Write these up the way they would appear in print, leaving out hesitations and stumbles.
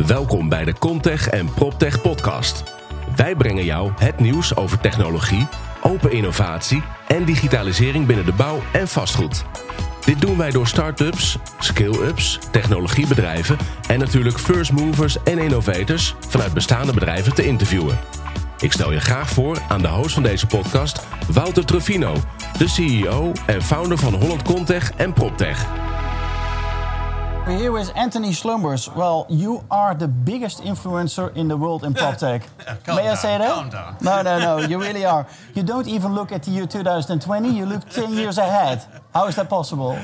Welkom bij de Comtech en PropTech podcast. Wij brengen jou het nieuws over technologie, open innovatie en digitalisering binnen de bouw en vastgoed. Dit doen wij door start-ups, scale-ups, technologiebedrijven en natuurlijk first movers en innovators vanuit bestaande bedrijven te interviewen. Ik stel je graag voor aan de host van deze podcast, Wouter Truffino, de CEO en founder van Holland Comtech en PropTech. We're here with Anthony Slumbers. Well, you are the biggest influencer in the world in PropTech. May I say that? Calm down. No, you really are. You don't even look at the year 2020, you look 10 years ahead. How is that possible?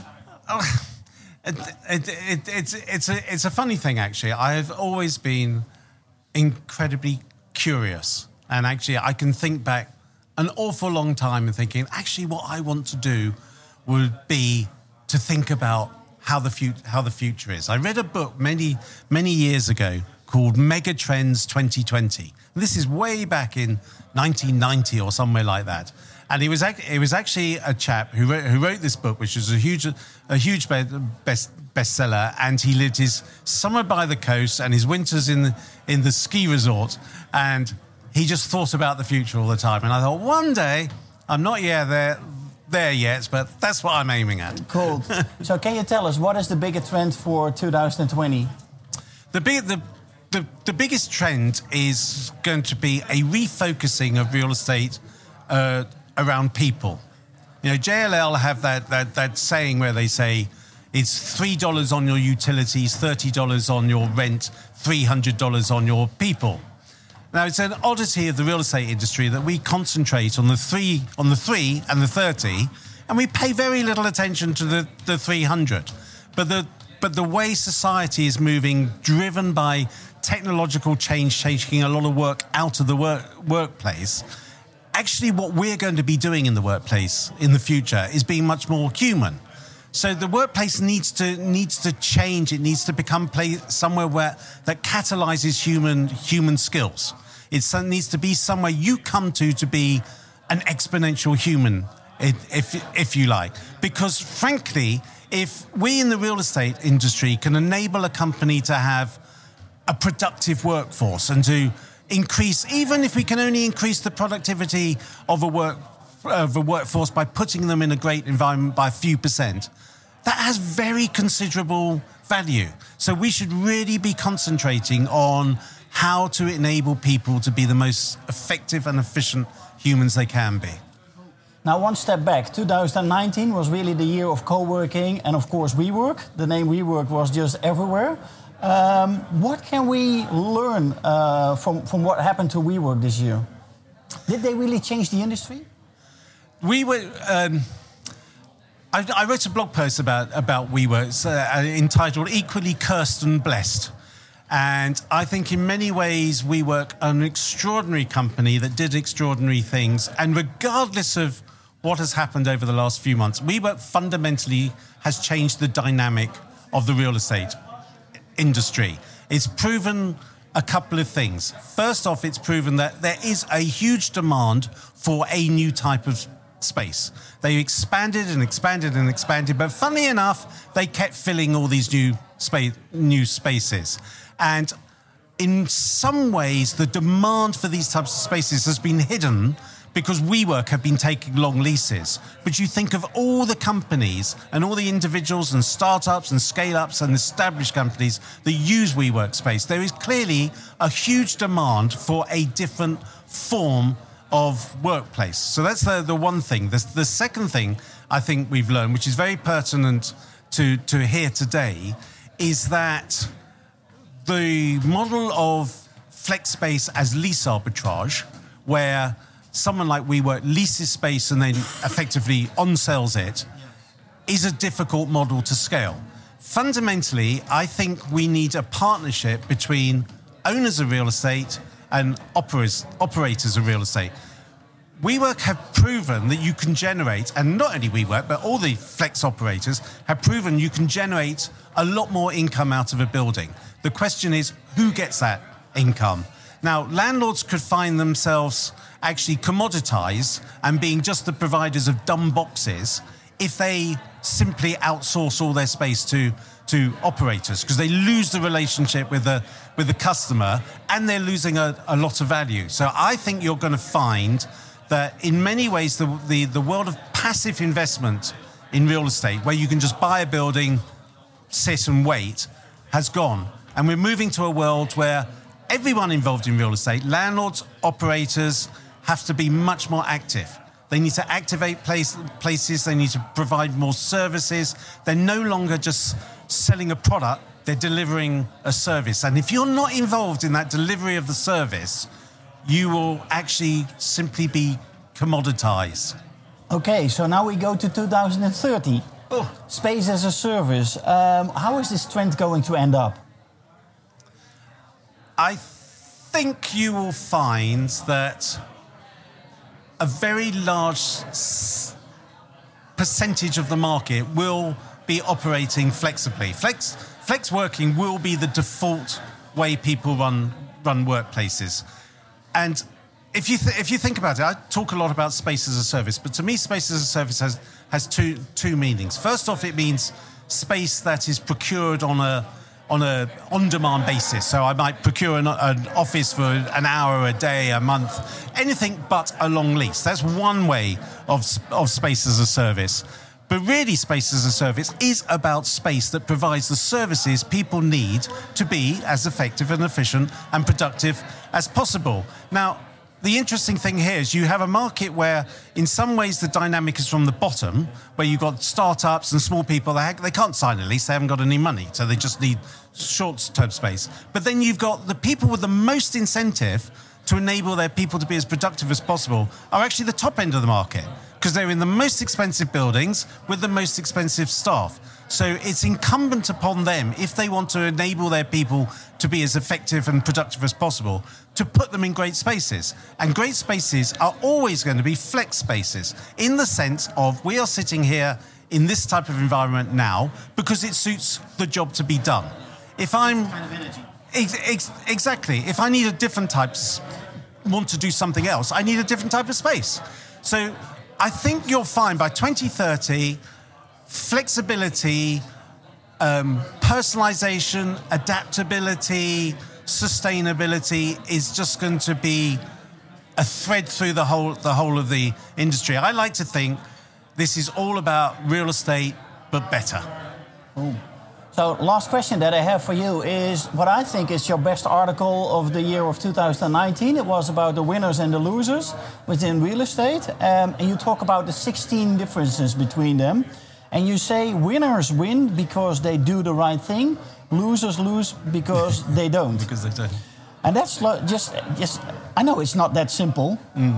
It's a funny thing, actually. I've always been incredibly curious. And actually, I can think back an awful long time and thinking, actually, what I want to do would be to think about how the future is. I read a book many years ago called Megatrends 2020. This is way back in 1990 or somewhere like that. And it was actually a chap who wrote this book, which was a huge bestseller. And he lived his summer by the coast and his winters in the ski resort. And he just thought about the future all the time. And I thought, one day, I'm not there yet, but that's what I'm aiming at. Cool. So can you tell us, what is the biggest trend for 2020? The biggest trend is going to be a refocusing of real estate around people. You know, JLL have that saying where they say it's $3 on your utilities, $30 on your rent, $300 on your people. Now, it's an oddity of the real estate industry that we concentrate on the three and the 30, and we pay very little attention to the 300. But the way society is moving, driven by technological change, taking a lot of work out of the workplace, actually what we're going to be doing in the workplace in the future is being much more human. So the workplace needs to change. It needs to become somewhere that catalyzes human skills. It needs to be somewhere you come to be an exponential human, if you like. Because frankly, if we in the real estate industry can enable a company to have a productive workforce and to increase, even if we can only increase the productivity of a workforce by putting them in a great environment by a few percent, that has very considerable value. So we should really be concentrating on how to enable people to be the most effective and efficient humans they can be. Now, one step back. 2019 was really the year of co-working and, of course, WeWork. The name WeWork was just everywhere. What can we learn from what happened to WeWork this year? Did they really change the industry? I wrote a blog post about WeWork entitled Equally Cursed and Blessed. And I think in many ways WeWork are an extraordinary company that did extraordinary things. And regardless of what has happened over the last few months, WeWork fundamentally has changed the dynamic of the real estate industry. It's proven a couple of things. First off, it's proven that there is a huge demand for a new type of space. They expanded and expanded and expanded, but funnily enough, they kept filling all these new spaces. And in some ways, the demand for these types of spaces has been hidden because WeWork have been taking long leases. But you think of all the companies and all the individuals and startups and scale-ups and established companies that use WeWork space, there is clearly a huge demand for a different form of workplace. So that's the one thing. The second thing I think we've learned, which is very pertinent to hear today, is that the model of flex space as lease arbitrage, where someone like WeWork leases space and then effectively on-sells it, is a difficult model to scale. Fundamentally, I think we need a partnership between owners of real estate and operators of real estate. WeWork have proven that you can generate, and not only WeWork, but all the flex operators have proven you can generate a lot more income out of a building. The question is, who gets that income? Now, landlords could find themselves actually commoditized and being just the providers of dumb boxes if they simply outsource all their space to operators, because they lose the relationship with the customer, and they're losing a lot of value. So I think you're going to find that in many ways the world of passive investment in real estate, where you can just buy a building, sit and wait, has gone. And we're moving to a world where everyone involved in real estate, landlords, operators, have to be much more active. They need to activate places, they need to provide more services. They're no longer just selling a product, they're delivering a service. And if you're not involved in that delivery of the service, you will actually simply be commoditized. Okay, so now we go to 2030. Oh. Space as a service. How is this trend going to end up? I think you will find that a very large percentage of the market will be operating flexibly. Flex working will be the default way people run workplaces. And if you think about it, I talk a lot about space as a service, but to me, space as a service has two meanings. First off, it means space that is procured on a on-demand basis. So I might procure an office for an hour, a day, a month, anything but a long lease. That's one way of space as a service. But really, space as a service is about space that provides the services people need to be as effective and efficient and productive as possible. Now, the interesting thing here is you have a market where, in some ways, the dynamic is from the bottom, where you've got startups and small people. They can't sign a lease. They haven't got any money, so they just need short-term space. But then you've got the people with the most incentive to enable their people to be as productive as possible are actually the top end of the market, because they're in the most expensive buildings with the most expensive staff. So it's incumbent upon them, if they want to enable their people to be as effective and productive as possible, to put them in great spaces. And great spaces are always going to be flex spaces, in the sense of we are sitting here in this type of environment now because it suits the job to be done. If I'm... Kind of energy. Exactly. If I need a different type, want to do something else, I need a different type of space. So I think you'll find by 2030, flexibility, personalization, adaptability, sustainability is just going to be a thread through the whole of the industry. I like to think this is all about real estate, but better. Ooh. So last question that I have for you is what I think is your best article of the year of 2019. It was about the winners and the losers within real estate. And you talk about the 16 differences between them. And you say winners win because they do the right thing. Losers lose because they don't. Because they don't. And that's just I know it's not that simple.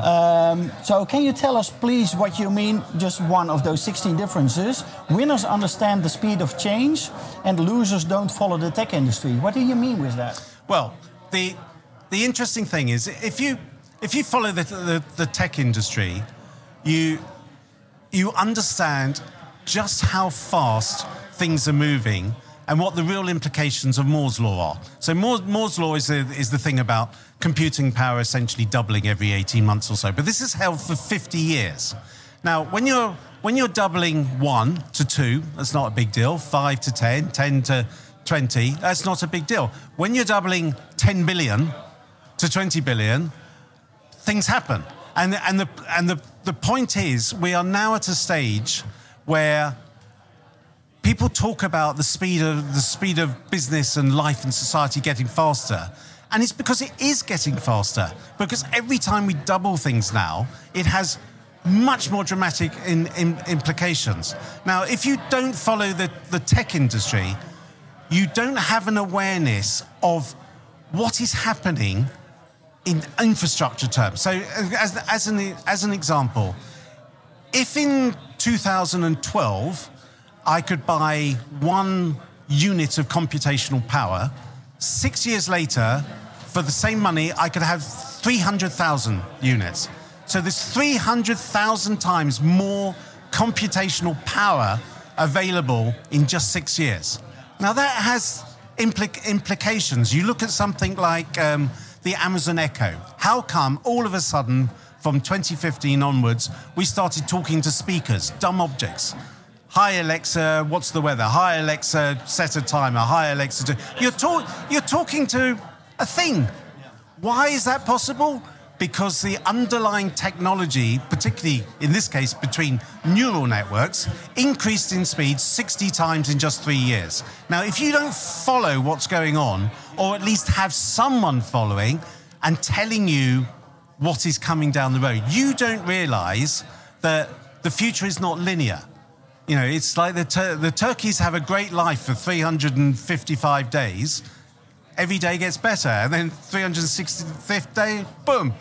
So can you tell us, please, what you mean, just one of those 16 differences? Winners understand the speed of change and losers don't follow the tech industry. What do you mean with that? Well, the interesting thing is, if you follow the tech industry, you understand just how fast things are moving and what the real implications of Moore's Law are. So Moore's Law is the thing about computing power essentially doubling every 18 months or so. But this has held for 50 years. Now, when you're doubling 1 to 2, that's not a big deal. 5 to 10, 10 to 20, that's not a big deal. When you're doubling 10 billion to 20 billion, things happen. And the point is, we are now at a stage where people talk about the speed of business and life and society getting faster. And it's because it is getting faster. Because every time we double things now, it has much more dramatic implications. Now, if you don't follow the tech industry, you don't have an awareness of what is happening in infrastructure terms. So as an example, if in 2012, I could buy 1 unit of computational power, 6 years later, for the same money, I could have 300,000 units. So there's 300,000 times more computational power available in just 6 years. Now that has implications. You look at something like the Amazon Echo. How come all of a sudden, from 2015 onwards, we started talking to speakers, dumb objects? Hi Alexa, what's the weather? Hi Alexa, set a timer. Hi Alexa, you're talking to a thing. Why is that possible? Because the underlying technology, particularly in this case between neural networks, increased in speed 60 times in just 3 years. Now, if you don't follow what's going on, or at least have someone following and telling you what is coming down the road, you don't realize that the future is not linear. You know, it's like the turkeys have a great life for 355 days. Every day gets better, and then 365th day, boom,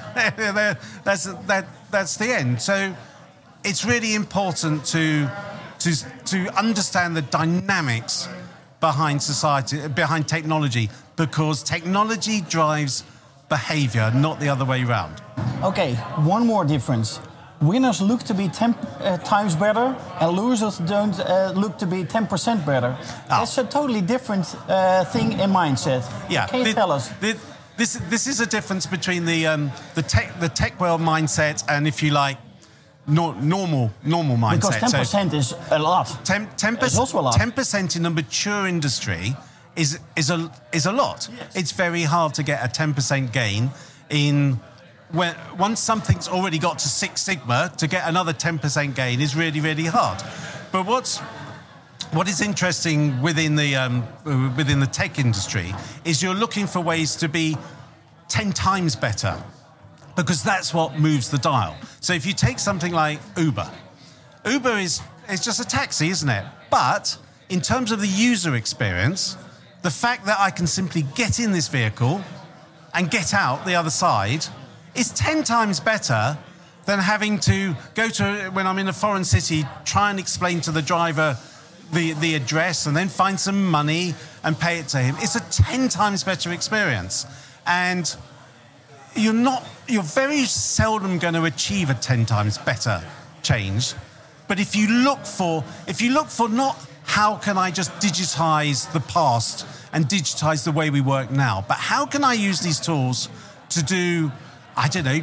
that's the end. So it's really important to understand the dynamics behind society, behind technology, because technology drives behavior, not the other way around. Okay, one more difference. Winners look to be 10 times better, and losers don't look to be 10% better. That's a totally different thing in mindset. Yeah. Can you tell us? This is a difference between the tech world mindset and, if you like, normal mindset. Because 10% is a lot. 10% is also a lot. 10% in a mature industry is a lot. Yes. It's very hard to get a 10% gain in. Once something's already got to Six Sigma, to get another 10% gain is really, really hard. But what is interesting within the tech industry is you're looking for ways to be 10 times better, because that's what moves the dial. So if you take something like Uber is just a taxi, isn't it? But in terms of the user experience, the fact that I can simply get in this vehicle and get out the other side is 10 times better than having to go to, when I'm in a foreign city, try and explain to the driver the address and then find some money and pay it to him. It's a 10 times better experience. And you're very seldom going to achieve a 10 times better change. But if you look for not how can I just digitize the past and digitize the way we work now, but how can I use these tools to do, I don't know,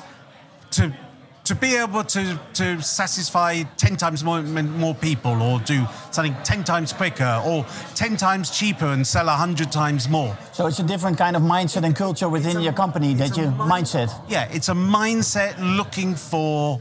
to be able to satisfy 10 times more people, or do something 10 times quicker, or 10 times cheaper and sell 100 times more. So it's a different kind of mindset and culture within your company mindset. Yeah, it's a mindset looking for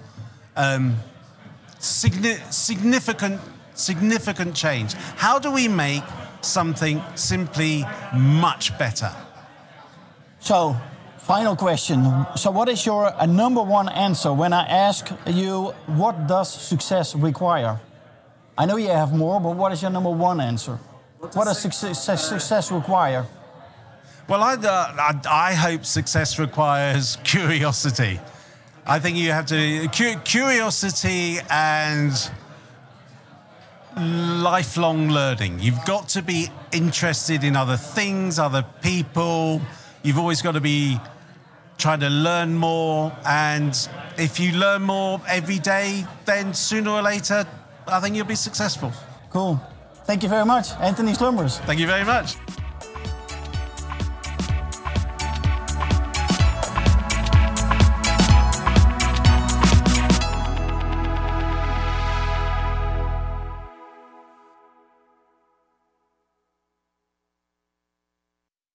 significant change. How do we make something simply much better? So, final question. So what is your number one answer when I ask you, what does success require? I know you have more, but what is your number one answer? What does success require? Well, I hope success requires curiosity. I think you have to... Curiosity and lifelong learning. You've got to be interested in other things, other people. You've always got to be trying to learn more. And if you learn more every day, then sooner or later, I think you'll be successful. Cool. Thank you very much, Anthony Slumbers. Thank you very much.